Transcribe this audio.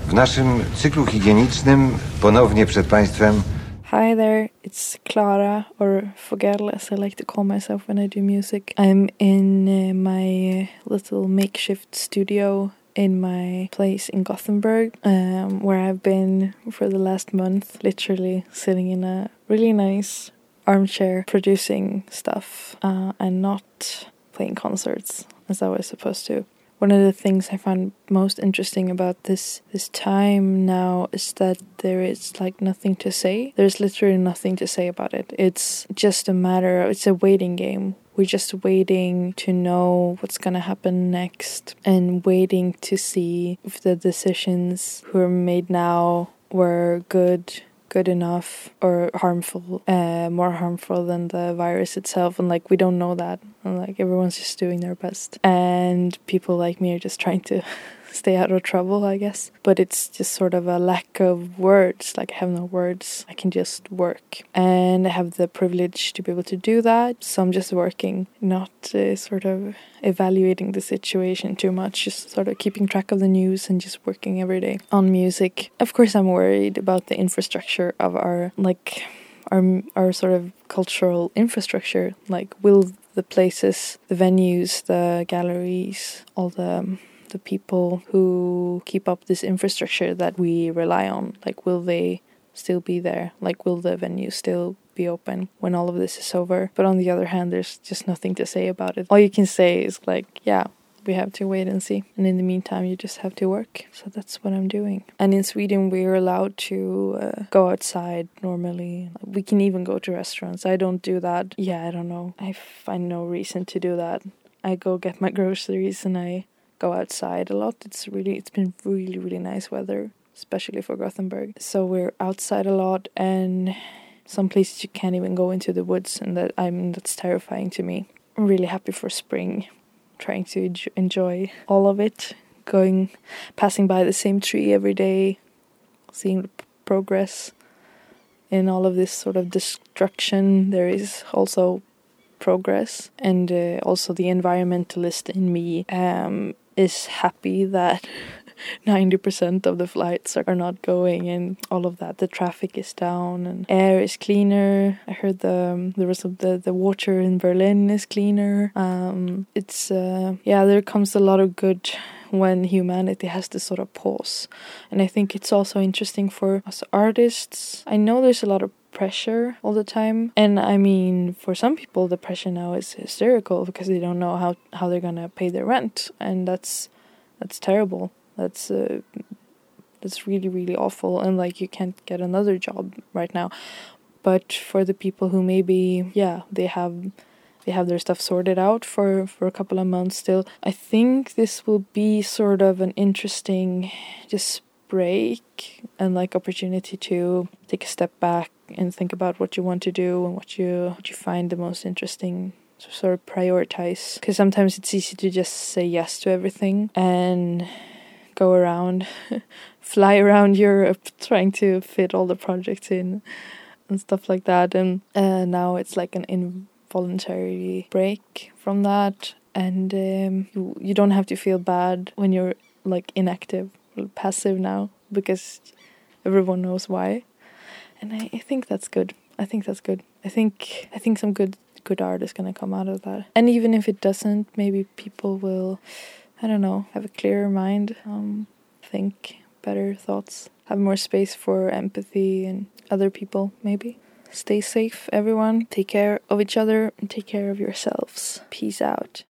W naszym cyklu higienicznym ponownie przed Państwem. Hi there, it's Clara, or Fogel as I like to call myself when I do music. I'm in my little makeshift studio in my place in Gothenburg, where I've been for the last month, literally sitting in a really nice armchair producing stuff and not playing concerts as I was supposed to. One of the things I find most interesting about this time now is that there is like nothing to say. There's literally nothing to say about it. It's just it's a waiting game. We're just waiting to know what's gonna happen next and waiting to see if the decisions who are made now were good enough or harmful, more harmful than the virus itself. And like, we don't know that. And like, everyone's just doing their best. And people like me are just trying to stay out of trouble, I guess. But it's just sort of a lack of words. Like, I have no words. I can just work. And I have the privilege to be able to do that. So I'm just working, not sort of evaluating the situation too much, just sort of keeping track of the news and just working every day on music. Of course, I'm worried about the infrastructure of our sort of cultural infrastructure. Like, will the places, the venues, the galleries, all the people who keep up this infrastructure that we rely on, like, will they still be there? Like, will the venues still be open when all of this is over? But on the other hand, there's just nothing to say about it. All you can say is like, yeah, we have to wait and see. And in the meantime, you just have to work. So that's what I'm doing. And in Sweden, we're allowed to go outside normally. We can even go to restaurants. I don't do that. Yeah, I don't know. I find no reason to do that. I go get my groceries and I go outside a lot. It's been really, really nice weather, especially for Gothenburg. So we're outside a lot, and some places you can't even go into the woods, and that's terrifying to me. I'm really happy for spring, trying to enjoy all of it, passing by the same tree every day, seeing the progress in all of this sort of destruction. There is also progress, and also the environmentalist in me is happy that 90% of the flights are not going and all of that. The traffic is down and air is cleaner. I heard the water in Berlin is cleaner. There comes a lot of good when humanity has to sort of pause. And I think it's also interesting for us artists. I know there's a lot of pressure all the time, and I mean, for some people the pressure now is hysterical because they don't know how they're gonna pay their rent, and that's terrible. That's really, really awful, and like, you can't get another job right now. But for the people who maybe they have their stuff sorted out for a couple of months still, I think this will be sort of an interesting just break and like opportunity to take a step back and think about what you want to do and what you find the most interesting, to sort of prioritize. Because sometimes it's easy to just say yes to everything and go around, fly around Europe trying to fit all the projects in and stuff like that. And now it's like an involuntary break from that, and you don't have to feel bad when you're like inactive, passive now, because everyone knows why. And I think that's good. I think some good art is going to come out of that. And even if it doesn't, maybe people will, I don't know, have a clearer mind, think better thoughts, have more space for empathy and other people, maybe. Stay safe, everyone. Take care of each other and take care of yourselves. Peace out.